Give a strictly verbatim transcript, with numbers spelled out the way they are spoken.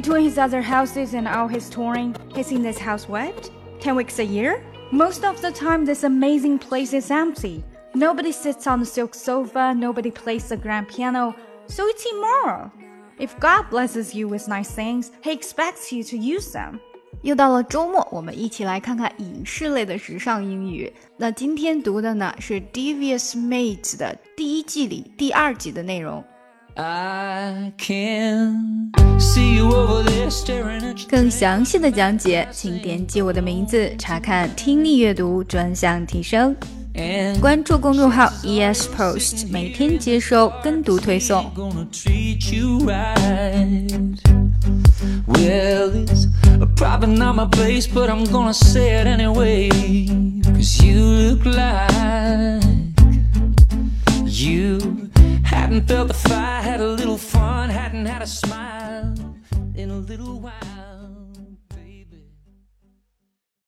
Between his other houses and all his touring, he's in this house what? ten weeks a year? Most of the time, this amazing place is empty. Nobody sits on the silk sofa, nobody plays the grand piano, so it's immoral. If God blesses you with nice things, he expects you to use them. 又到了周末，我们一起来看看影视类的时尚英语。那今天读的呢是 Devious Mate 的第一季里第二集的内容。 I can see you over there staring at you. 更详细的讲解，请点击我的名字查看听力阅读专项提升。关注公众号 E S Post， 每天接收跟读推送。 Well, it's probably not my place, but I'm gonna say it anyway. Cause you look like you hadn't felt the fire, had a little fun, hadn't had a smile in a little while.